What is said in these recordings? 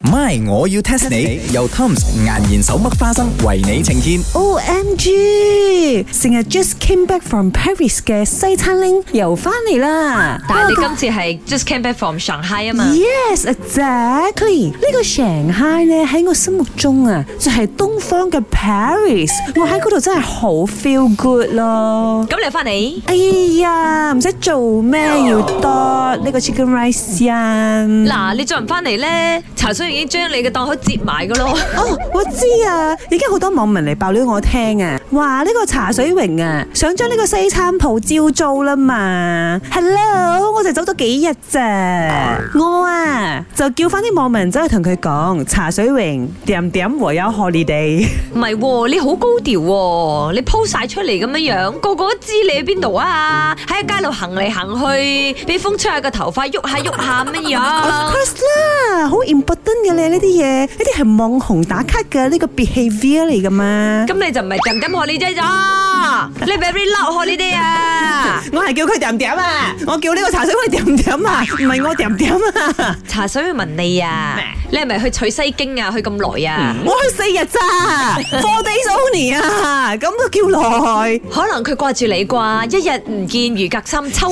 My， 我要 test 你。由 Tom's 顏然手剝花生為你呈現。 OMG， 成日 just came back from Paris 嘅西餐拎又翻嚟啦。 但係你今次係 just came back from Shanghai 啊嘛 ？Yes, exactly。呢個 Shanghai 咧喺我心目中啊，就係東方嘅 Paris。我喺嗰度真係好 feel good 咯。 咁你翻嚟？ 哎呀，唔使做咩要多呢個 chicken rice 先。 嗱，你再唔翻嚟咧，茶水已經將你嘅檔口接埋噶咯。 哦，我知啊，已經好多網民嚟爆料我聽啊，話呢個茶水榮啊，想將呢個西餐鋪招租啦嘛。Hello， 我就走咗幾日咋，我啊就叫翻啲網民走去同佢講，茶水榮點點我有 holiday。 唔係喎，你好高調喎，你 po 晒出嚟咁樣樣，個個都知你喺邊度啊！喺街度行嚟行去，俾風吹下個頭髮，喐下喐下乜樣 ？Of course 啦，好 important 嘅咧呢啲嘢，呢啲係網紅打卡嘅呢個 behavior 嚟噶嘛。 咁你就唔係點點 holiday 咗，你 very loud holiday 啊！ 我係叫佢點點啊，我叫呢個茶水榮點點啊，唔係我點點啊。 茶水問你啊，你係咪去取西經啊？去咁耐啊？ 我去4日咋，4 days only 啊，咁都叫耐？ 可能佢掛住你啩，一日唔見如隔三秋。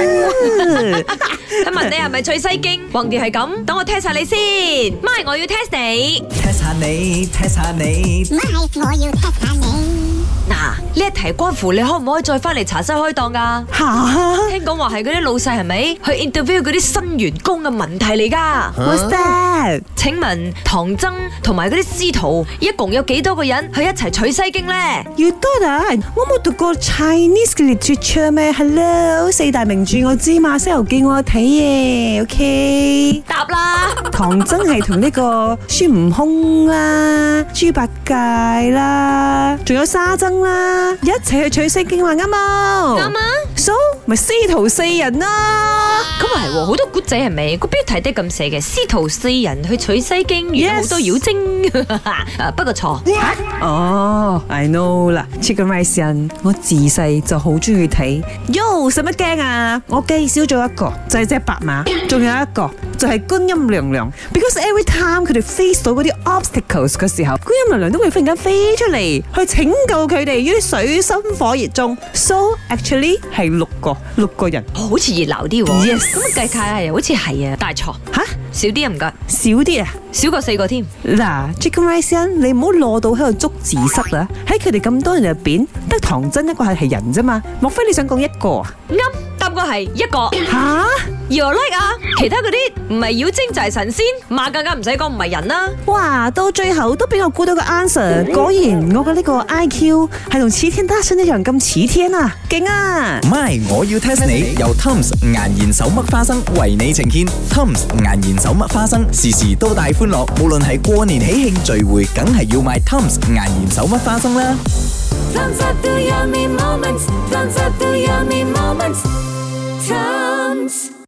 佢問你係咪取西經？橫掂係咁，等我 test 下你先。咪，我要 test 你。 test 下你 test 下你。 咪，我要 test 下你。 嗱，呢一題關乎你可唔可以再翻嚟茶室開檔噶？ 吓， 聽講話係嗰啲老細係咪去 interview 嗰啲新員工嘅問題嚟噶 What's that？ 請問唐僧同埋嗰啲師徒一共有幾多個人去一齊取西經咧？ 要多啊！我冇讀過 Chinese 嘅 literature 咩 ？Hello， 4大名著我知嘛，《西遊記》我有睇嘅 ，OK。 答啦！ 唐僧係同呢個孫悟空啦、豬八戒啦，仲有沙僧啦，一齊去取西經話啱冇？ 啱啊 ！So 咪師徒4人啦。 咁啊係喎，好多古仔係咪？個標題都咁寫嘅，師徒4人去取西經，遇到好多妖精。不過錯。 哦 ，I know 啦 ，Chicken Rice 人，我自細就好中意睇。喲，使乜驚啊？我記少咗一個，就係隻白馬，仲有一個就係觀音娘娘。Because every time 佢哋 face 到嗰啲 obstacles 嘅時候，觀音娘娘都會忽然間飛出嚟去拯救佢哋於啲水深火熱中。So actually 係6個人， 好似熱鬧啲喎。 Yes 咁計下又好似係啊，大錯吓少啲啊，唔該， 少啲啊！ 少過4個添。 嗱 ，Chicken Rice 人，你唔好攞到喺度捉字蝨啦！喺佢哋咁多人入邊，得唐僧一個係人啫嘛，莫非你想講一個啊？ 啱，答個係一個。 吓 You're like 啊，其他嗰啲唔係妖精就係神仙，馬更加唔使講唔係人啦。 哇，到最後都俾我估到個 answer， 果然我嘅呢個 IQ 係同齊天大聖一樣咁似天啊，勁啊 My， 我要 test 你。由 Tom's 顏然手剝花生為你呈現。Tom's 顏然手剝花生，時時都帶歡樂。無論係過年喜慶聚會，梗係要買 Tom's 顏然手剝花生啦。 Thumbs up the yummy moments. Thumbs up the yummy moments. Thumbs.